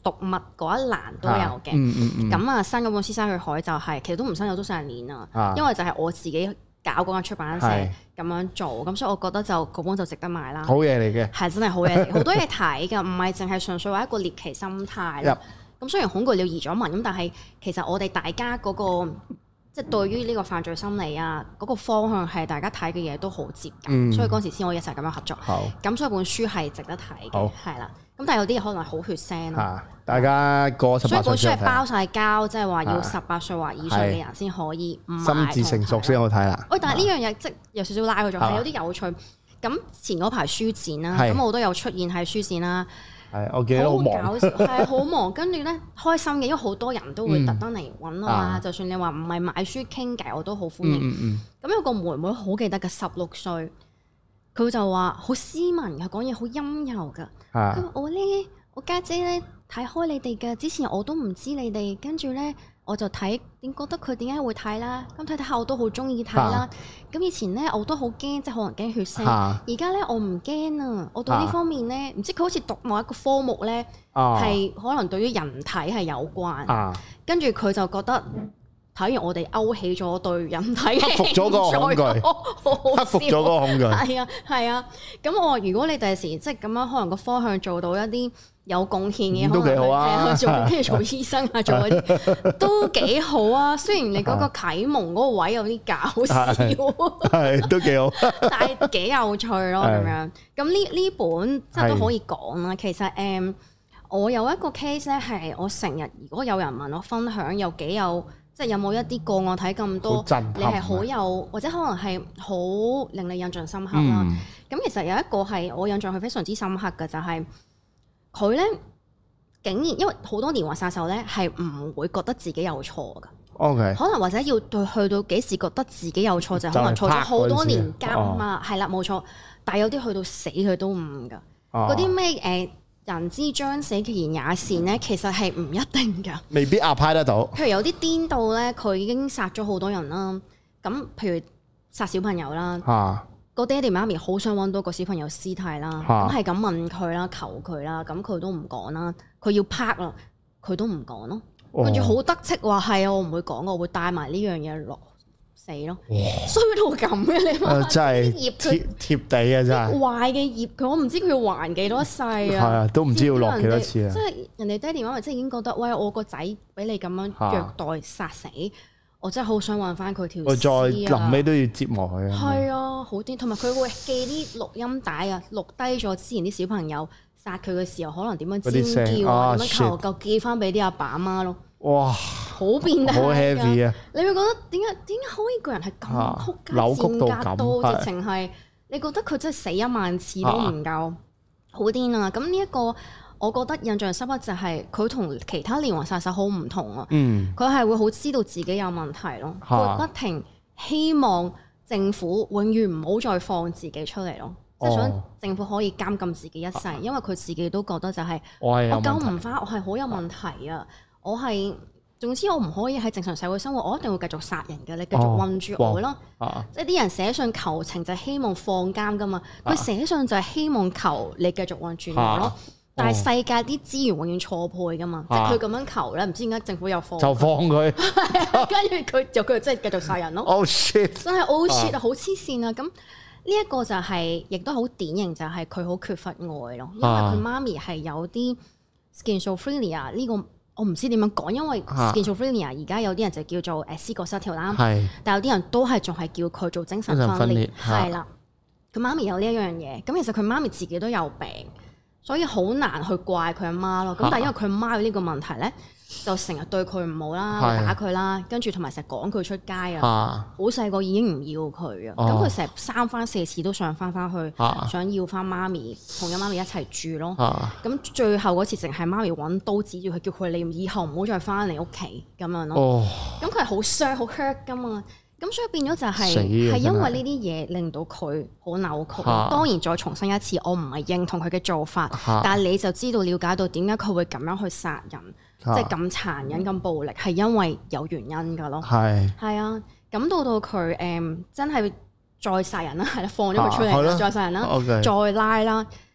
讀物嗰一欄都有嘅。咁、嗯嗯嗯、啊，新嗰本《屍山血海》就係、是、其實都唔新有，都成年啦。啊、因為就係我自己搞嗰間出版社咁樣做，咁是所以我覺得就嗰本就值得買啦。好嘢嚟嘅，係真係好嘢，好多嘢睇㗎，唔係淨係純粹話一個獵奇心態。咁、嗯、雖然恐懼了移咗民，咁但係其實我哋大家嗰、那個。即係對於呢個犯罪心理啊，嗰、那個方向係大家睇嘅嘢都好接近，嗯、所以嗰時先可以一齊咁樣合作。好，咁所以本書係值得睇嘅，係啦好。咁但係有啲嘢可能係好血腥咯、啊。大家過十八歲，所以本書係包晒膠，即係話要十八歲或以上嘅人先可以買。心智成熟先好睇啦。喂，但係呢樣嘢即係有少少拉佢咗，係的有啲有趣。咁前嗰排書展啦，咁的我都有出現喺書展啦。係，我記得好忙，係好忙。跟住咧開心嘅，因為好多人都會特登嚟揾我啊。嗯、就算你話唔係買書傾偈，我都好歡迎。咁、嗯嗯嗯、有個妹妹好記得嘅，十六歲，佢就話好斯文嘅，講嘢好陰柔㗎。佢話我咧，我家姐咧睇開你哋嘅，之前我都唔知你哋，跟住咧。我就睇點覺得佢點解會睇啦，咁睇睇下我都好中意睇啦。咁、啊、以前咧我都好驚，即係可能驚血腥。而家咧我唔驚啊，我對呢方面咧，唔、啊、知佢好似讀某一個科目咧，係、啊、可能對於人體係有關。啊、跟住佢就覺得睇完我哋勾起咗對人體嘅克服咗個恐懼，克服咗個恐懼。係啊係啊，咁我話如果你第時即係咁樣，可能個方向做到一啲。有貢獻嘅，都幾好啊！做跟住做醫生啊，做嗰啲都幾好啊。雖然你嗰個啟蒙嗰個位有啲搞笑，係都幾好，但係幾有趣咯咁樣。咁呢呢本即係都可以講啦。其實誒，我有一個 case 咧，係我成日如果有人問我分享，有幾有即係有冇一啲個案睇咁多，你係好有或者可能係好令你印象深刻啦。咁其實有一個係我印象係非常之深刻嘅，就係。佢咧竟然，因為好多連環殺手咧係唔會覺得自己有錯㗎。OK，可能或者要對去到幾時覺得自己有錯，就可能錯咗好多年監啊，係啦冇錯。但係有啲去到死佢都唔㗎。嗰啲咩誒人之將死其言也善咧，其實係唔一定㗎。未必 apply 得到。譬如有啲顛倒咧，佢已經殺咗好多人啦。咁譬如殺小朋友啦。啊個爹哋媽咪好想揾到個小朋友屍體啦，咁係咁問佢啦，求佢啦，咁佢都唔講啦，佢要拍啦，佢都唔講咯，跟住好得戚話係啊，我唔會講，我會帶埋呢樣嘢落死咯，衰到咁嘅你話，真係貼貼貼地啊真係，壞嘅業佢我唔知佢要還幾多世啊，係啊，都唔知要落幾多次啊，即係人哋爹哋媽咪即係已經覺得，喂我個仔俾你咁樣虐待殺死。我真係好想揾翻佢條屍啊！我再臨尾都要折磨佢啊！係啊，好癲！同埋佢會寄啲錄音帶啊，錄低咗之前啲小朋友殺佢嘅時候，可能點樣尖叫啊，點樣求救，寄翻俾啲阿爸阿媽咯。哇！好變態，好 heavy 啊！你會覺得點解點解可以個人係咁曲扭曲到咁？直情係你覺得佢真係死一萬次都唔夠，好癲啊！咁呢一個。我覺得印象深刻就係佢同其他連環殺手好唔同啊！佢係、嗯、會好知道自己有問題咯，佢、啊、不停希望政府永遠唔好再放自己出嚟咯，即係、哦、想政府可以監禁自己一世，啊、因為佢自己都覺得就係、是、我救唔翻，我係好有問題啊！我係總之我唔可以喺正常社會生活，我一定會繼續殺人嘅，你繼續困住我咯！啊、即係啲人寫信求情就係希望放監噶嘛，佢寫信就係希望求你繼續困住我咯。啊但係世界啲資源永遠錯配噶嘛，啊、即係佢咁樣求咧，唔知點解政府又放就放佢，跟住佢就佢真係繼續殺人咯。Oh shit！真係 oh shit 啊，好黐線啊！咁呢一個就係、是，亦都好典型，就係佢好缺乏愛咯。因為佢媽咪係有啲 schizophrenia 呢個，我唔知點樣講，因為 schizophrenia 而家有啲人就叫做誒思覺失調啦，是但有啲人都係仲係叫佢做精神分裂，係啦。佢媽咪有呢一樣嘢，咁其實佢媽咪自己都有病。所以好難去怪佢阿媽咯，咁但係因為佢阿媽有呢個問題咧，就成日對佢唔好啦，的打佢啦，跟住同埋成日趕佢出街啊，好細個已經唔要佢啊，咁佢成日三番四次都想翻翻去，的想要翻媽咪同阿媽咪一齊住咯，咁的最後嗰次淨係媽咪揾刀指住佢，叫佢你以後唔好再翻嚟屋企咁樣咯，咁佢係好傷好 hurt 噶嘛。咁所以變咗就係、是、係因為呢啲嘢令到佢好扭曲。啊、當然再重申一次，我唔係認同佢嘅做法，啊、但係你就知道了解到點解佢會咁樣去殺人，即係咁殘忍、咁暴力，係因為有原因㗎咯。係係啊，咁到到佢誒真係再殺人啦，係啦，放咗佢出嚟、啊、再殺人啦，okay. 再拉啦。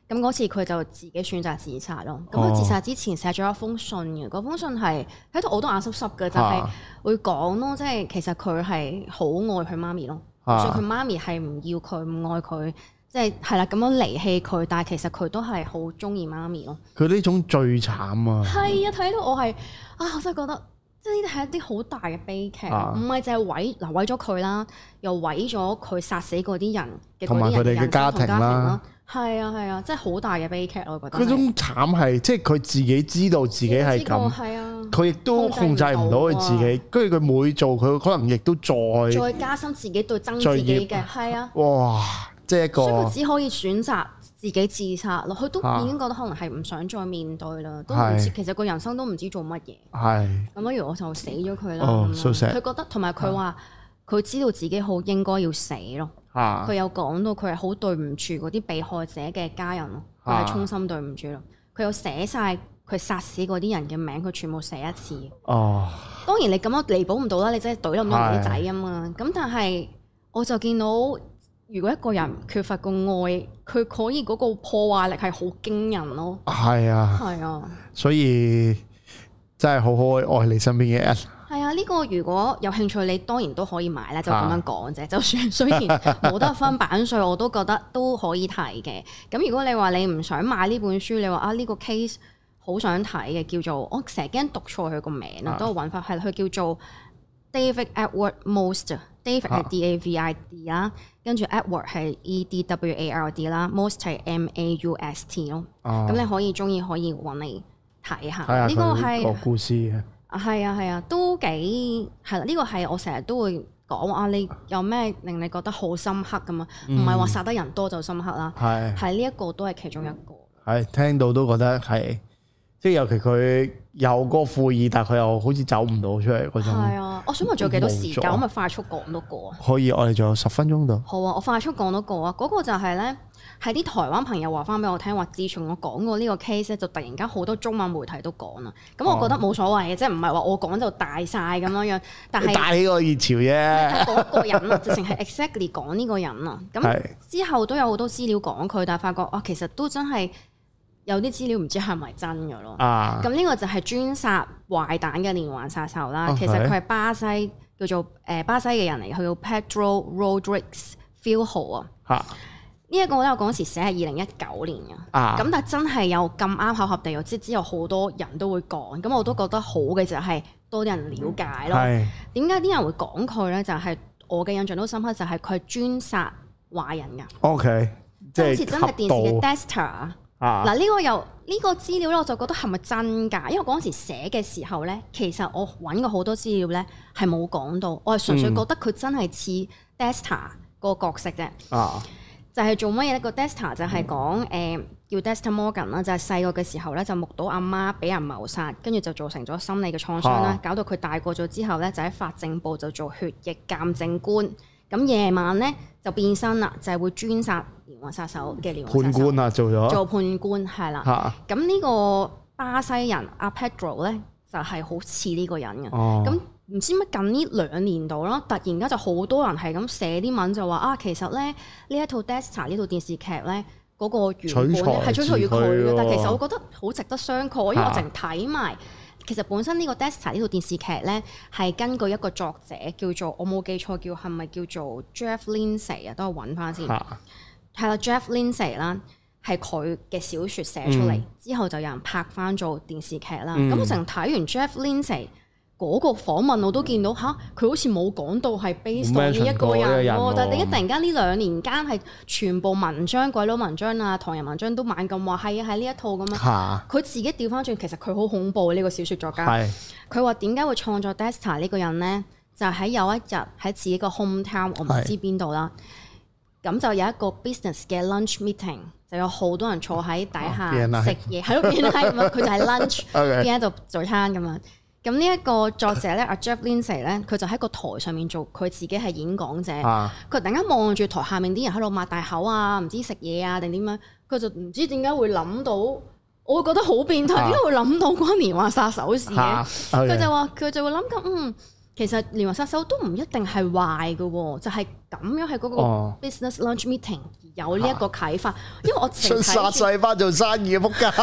咁嗰次佢就自己選擇自殺咯。咁佢自殺之前寫咗一封信嘅，嗰封信係喺度我都眼濕濕嘅，就係會講咯，即係其實佢係好愛佢媽咪咯，就算佢媽咪係唔要佢、唔愛佢，即係係啦咁樣離棄佢，但係其實佢都係好中意媽咪咯。佢呢種最慘啊！ 係啊，睇到我係啊，我真係覺得。即係呢啲係一啲好大嘅悲劇，唔係淨係毀嗱毀咗佢啦，又毀咗佢殺死嗰啲人嘅嗰啲人嘅家庭啦，係啊係啊，真係好大嘅悲劇我覺得。嗰種慘係即係佢自己知道自己係咁，係啊，佢亦都控制唔到佢自己，跟住佢每做佢可能亦都再再加深自己對憎自己嘅，係啊， 哇！即係一個，所以佢只可以選擇自己自殺咯。佢都已經覺得可能係唔想再面對啦，都唔知其實個人生都唔知做乜嘢。係咁，不如我就死咗佢啦。佢覺得同埋佢話佢知道自己好應該要死咯。佢有講到佢係好對唔住嗰啲被害者嘅家人咯，佢係衷心對唔住咯。佢有寫晒佢殺死嗰啲人嘅名，佢全部寫一次。哦，當然你咁樣彌補唔到啦，你真係懟冧咗人啲仔啊嘛。咁但係我就見到。如果一個人缺乏個愛，佢可以嗰個破壞力係好驚人咯。係啊，係啊， 所以真係好好愛你身邊嘅人。 係啊，呢個如果有興趣，你當然都可以買啦，就咁樣講啫。就算雖然冇得分版稅，我都覺得都可以睇嘅。咁如果你話你唔想買呢本書，你話啊呢個 case 好想睇嘅，叫做我成日驚讀錯佢個名啊，都揾法係佢叫做 David Edward Most。David 係 D A V I D 啦，跟住 Edward 係 E D W A R D 啦 ，Most 係 M A U S T 咯。咁你可以中意可以揾嚟睇下。呢個係個故事嘅。 係啊係啊，都幾係啦。呢個係我成日都會講啊，你有咩令你覺得好深刻㗎嘛？唔係話殺得人多就深刻啦。係係呢一個都係其中一個。係聽到都覺得係。即係尤其佢有個悔意，但係佢又好似走唔到出嚟嗰種。 係啊，我想問仲有幾多時間？我咪快速講多個啊。 可以，我哋仲有十分鐘度。 好啊，我快速講多個啊。嗰、那個就係咧，係啲台灣朋友話翻俾我聽，話自從我講過呢個 case 咧，就突然間好多中文媒體都講啦。咁我覺得冇所謂嘅，哦、即係唔係話我講就大晒咁樣樣。但係帶起個熱潮啫。 嗰個人啊，直情係 exactly 講呢個人啊。咁之後都有好多資料講佢，但係發覺啊，其實都真係。有啲資料唔知係咪真嘅咯，咁呢、啊、個就係專殺壞蛋嘅連環殺手啦。Okay. 其實佢係巴西叫做誒巴西嘅人嚟，佢叫 Pedro Rodrigues Filho 啊。呢一個咧我嗰時寫係二零一九年嘅，咁、啊、但係真係有咁啱巧合地，又即係之後好多人都會講，咁我都覺得好嘅就係多啲人了解咯。點解啲人會講佢咧？就係、是、我嘅印象都深刻，就係佢係專殺壞人㗎。OK，即係好似真係電視嘅 Dexter。嗱呢、啊、個又呢、呢個資料咧，我就覺得係咪真㗎？因為嗰陣時寫嘅時候咧，其實我揾過好多資料咧，係冇講到，我係純粹覺得佢真係似 Dexter 個角色啫。啊，就係做乜嘢咧？個 Dexter 就係講誒叫 Dexter Morgan 啦，就係細個嘅時候咧，就目睹阿媽俾人謀殺，跟住就造成咗心理嘅創傷啦，啊、搞到佢大個咗之後咧，就喺法政部就做血液鑑證官。咁夜晚咧就變身啦，就係、是、會專殺連環殺手嘅連環殺手。判官啊，做咗做判官係啦。咁呢、啊、個巴西人阿 Pedro 咧就係、是、好似呢個人嘅。咁唔、哦、知乜近呢兩年度啦，突然間就好多人係咁寫啲文就話啊，其實咧呢一套 Dexter 呢套電視劇咧嗰、那個原本係取材於佢嘅，但其實我覺得好值得商榷，因為我淨睇埋。其實本身呢個 Dexter 呢套電視劇咧，係根據一個作者叫做我冇記錯叫係咪叫做 Jeff Lindsay 啊？等我揾翻先。係啦，Jeff Lindsay 啦，係佢嘅小説寫出嚟，嗯、之後就有人拍翻做電視劇啦。咁、嗯、我成睇完 Jeff Lindsay 嗰個訪問，我都見到吓，佢好似冇講到係 based on 呢一個人喎。但係點解突然間呢兩年間係全部文章鬼佬文章啊、唐人文章都猛咁話係啊係呢一套咁樣？佢、啊、自己調翻轉，其實佢好恐怖呢、呢個小説作家。佢話點解會創作 Dexter 呢個人咧？就喺、是、有一日喺自己個 home town，我唔知邊度啦。咁是就有一個 business 嘅 lunch meeting，就有好多人坐喺底下食嘢，喺度邊係佢就係 lunch 邊喺度早餐咁樣。咁呢一個作者咧，阿 Jeff Lindsay 咧，佢就喺個台上面做，佢自己係演講者。佢、啊、突然間望住台下面啲人喺度擘大口啊，唔知食嘢啊定點樣，佢就唔知點解會諗到，我會覺得好變態，點解、啊、會諗到關連環殺手事嘅？佢、啊 okay. 就話佢就會諗緊，嗯， 其實連環殺手都唔一定係壞嘅喎，就係、是、咁樣喺嗰個 business lunch meeting 有呢一個啟發，哦、因為我成殺細班做生意嘅仆街，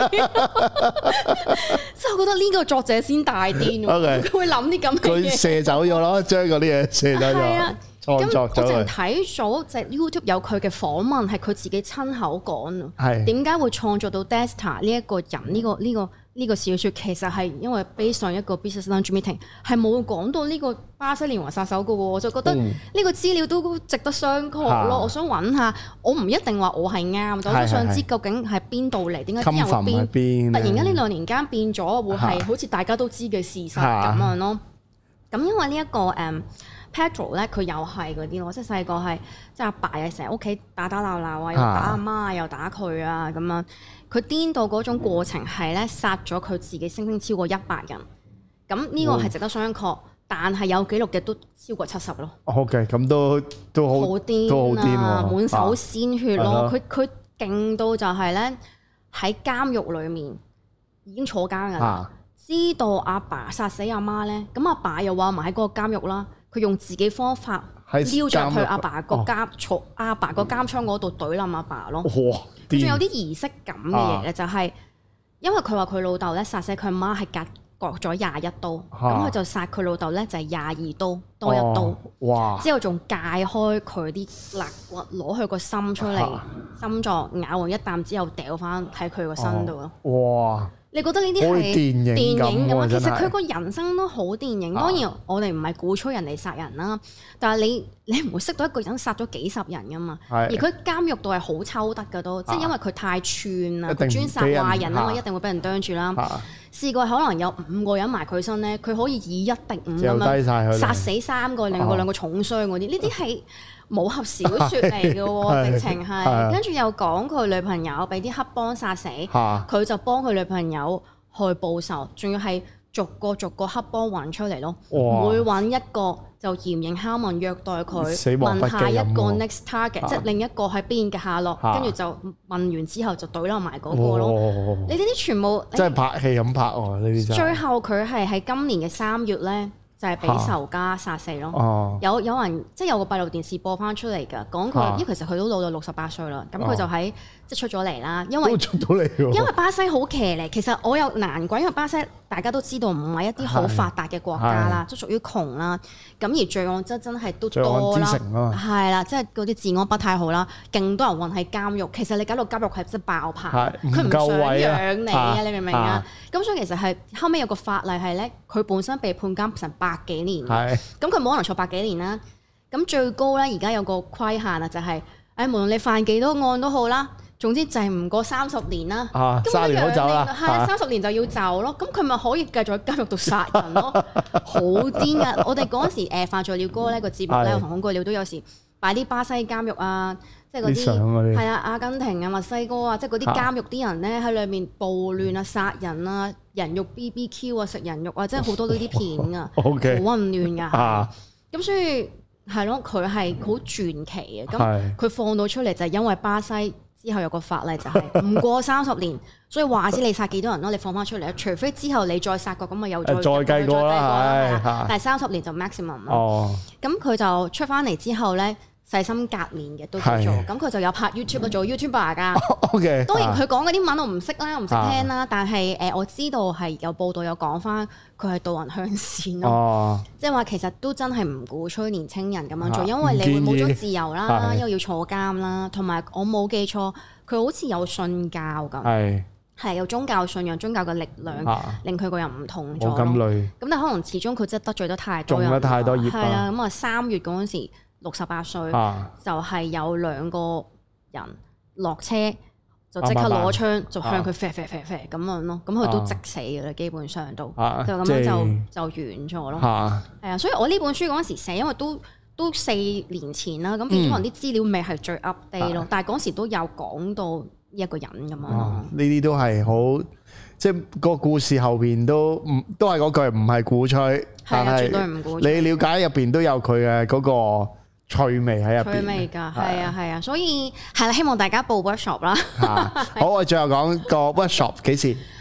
即係我覺得呢個作者先大癲喎，佢 Okay, 會諗啲咁嘅嘢，佢射走咗咯，將嗰啲嘢射走咗。咁我淨睇咗隻 YouTube 有佢嘅訪問，係佢自己親口講啊。點解會創作到 Dexter 呢一個人呢、呢個呢、呢個呢、呢個小説？其實係因為 based 上一個 business lunch meeting，係冇講到呢個巴西連環殺手嘅喎。我就覺得呢個資料都值得商榷咯。嗯、我想揾下，我唔一定話我係啱，我都想知究竟係邊度嚟？點解啲人會變？突然間呢兩年間變咗，會係好似大家都知嘅事實咁樣咯。咁因為呢、呢、一個誒。Um, Pedro 咧，佢又係嗰啲咯，即係細個係即係阿爸又成日屋企打打鬧鬧啊，又打阿媽又打佢啊咁樣。佢癲到嗰種過程係咧殺咗佢自己聲稱超過一百人。咁呢個係值得商榷，但係有記錄嘅都超過七十咯。OK，咁都都好好癲啊！滿手鮮血咯，佢佢勁到就係咧喺監獄裡面已經坐監㗎啦，啊、知道阿爸殺死阿媽咧，咁阿爸又話埋喺嗰個監獄啦。佢用自己方法撩着去阿爸個監坐阿爸個監倉嗰度懟冧阿爸咯。哇！仲有啲儀式感嘅嘢咧，就係因為佢話佢老豆咧殺死佢阿媽係割割咗廿一刀，咁佢、啊、就殺佢老豆咧就係廿二刀多一刀。哦、哇！之後仲解開佢啲肋骨，攞佢個心出嚟，啊、心臟咬完一啖之後掉翻喺佢個身度咯。哇！你覺得呢啲係電影咁啊？其實佢個人生都好電影。當然我哋唔係鼓吹人哋殺人啦，但係你你唔會識到一個人殺咗幾十人噶嘛。而佢監獄度係好抽得噶都，即係因為佢太串啦，佢專殺壞人啊嘛，一定會俾人啄住啦。試過可能有五個人埋佢身咧，佢可以以一敵五咁樣殺死三個，另外兩個重傷嗰啲。呢啲係武俠小説嚟嘅喎，直情係。跟住又講佢女朋友俾啲黑幫殺死，佢就幫佢女朋友去報仇，仲要係逐個逐個黑幫揾出嚟咯。每揾一個就嚴刑拷問虐待佢，問下一個 next target，即係另一個喺邊嘅下落，跟住就問完之後就懟冧埋嗰個咯。你呢啲全部即係拍戲咁拍喎，呢啲最後佢係喺今年嘅三月咧。就係俾仇家殺死咯，啊、有有人即係有個閉路電視播翻出嚟㗎，講佢，啊、因為其實佢都老到六十八歲啦，咁佢就喺、啊、即係出咗嚟啦，因為出到嚟喎， 因為巴西好騎呢，其實我有難怪，因為巴西大家都知道唔係一啲好發達嘅國家啦，都屬於窮啦，咁而罪案真真係都多啦，係啦，即係嗰啲治安不太好啦，勁多人混喺監獄，其實你搞到監獄係真係爆棚，佢唔想養你啊，你明唔明啊？咁所以其實係後尾有個法例係咧，佢本身被判監成百幾年，咁佢冇可能坐百幾年啦。咁最高咧，而家有個規限啊，就係誒無論你犯幾多案都好啦，總之就係唔過三十年啦。啊，三年好走啦，係三十年就要走咯。咁佢咪可以繼續喺監獄度殺人咯？好癲噶！我哋嗰陣時誒犯罪鳥歌咧個節目咧，同恐懼鳥都有時擺啲巴西監獄啊。即係嗰啲係啊，阿根廷啊、墨西哥啊，即係嗰啲監獄啲人咧喺裏面暴亂啊、殺人啊、人肉 B B Q 啊、食人肉啊，即係好多呢啲片啊，好混亂㗎。咁所以係咯，佢係好傳奇嘅。咁佢放到出嚟就係因為巴西之後有個法例就係唔過三十年，所以話知你殺幾多人咯，你放翻出嚟，除非之後你再殺過，咁咪又再再計過啦。但係三十年就 maximum 咯。咁佢就出翻嚟之後咧。細心革面嘅都叫做，咁佢就有拍 YouTube 做 YouTuber 㗎。OK，當然佢講嗰啲文我唔識啦，唔識聽啦，但係誒我知道係有報道有講翻，佢係導人向善咯。即係話其實都真係唔鼓吹年青人咁樣做，因為你會冇咗自由啦，因為要坐監啦，同埋我冇記錯，佢好似有信教咁，係係有宗教信仰、宗教嘅力量令佢個人唔同咗。咁累，咁但係可能始終佢真係得罪得太多人，中咗太多業。係啦，咁啊三月嗰陣時。六十八歲、啊、就係有兩個人落車就即刻攞槍就向佢射射射射咁樣咯，咁佢都即死嘅啦，基本上都、啊、就咁樣就、啊、就完咗咯。係啊，啊，所以我呢本書嗰陣時寫，因為都都四年前啦，咁變咗可能啲資料未係最 update 咯，嗯、但係嗰時都有講到一個人咁樣。呢啲、 啊、都係好，即係個故事後邊都唔都係嗰句，唔係鼓吹，係啊，絕對唔鼓吹。你了解入邊都有佢嘅嗰個趣味喺入邊，趣味㗎，係啊係啊，所以係啦，希望大家報 workshop 啦。好，我最後講個 workshop 幾時？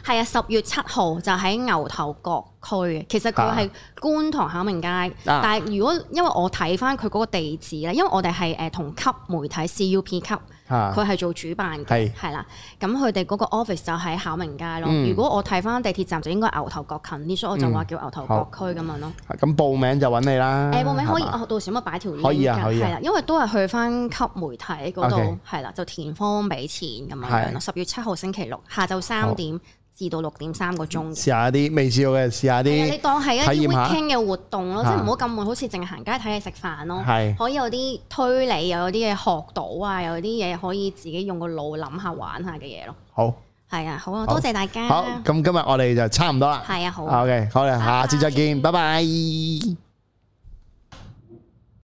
係啊，十月七號就喺牛頭角區嘅。其實佢係觀塘巧明街，啊、但係如果因為我睇翻佢嗰個地址咧，因為我哋係誒同級媒體 C U P 級。佢係做主辦嘅，係啦是，咁佢哋嗰個 office 就喺巧明街咯。嗯、如果我睇翻地鐵站就應該牛頭角近啲，所以我就話叫牛頭角區咁樣咯。咁、 嗯、報名就揾你啦。誒，報名可以，吧我到時咪擺條 link 可以啊，可以、啊。 係啦，因為都係去翻級媒體嗰度，係啦 Okay，就填方俾錢咁樣樣咯。十月七號星期六下晝三點。至到六點三個鐘，試下啲未試過嘅，試下啲。你當係一啲 weekend 嘅活動咯，即係唔好咁悶，好似淨係行街睇嘢食飯咯。係可以有啲推理，又有啲嘢學到啊，有啲嘢可以自己用個腦諗下玩下嘅嘢咯。 好， 係啊，好啊，多謝大家。 好，咁今日我哋就差唔多啦。 係啊，好。 OK，好啦，下次再見，拜拜。